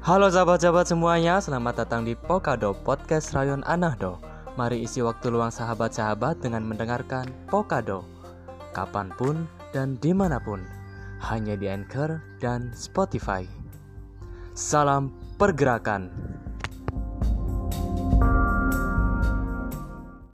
Halo sahabat-sahabat semuanya, selamat datang di Pokado Podcast Rayon Anahdo. Mari isi waktu luang sahabat-sahabat dengan mendengarkan Pokado kapanpun dan dimanapun, hanya di Anchor dan Spotify. Salam pergerakan.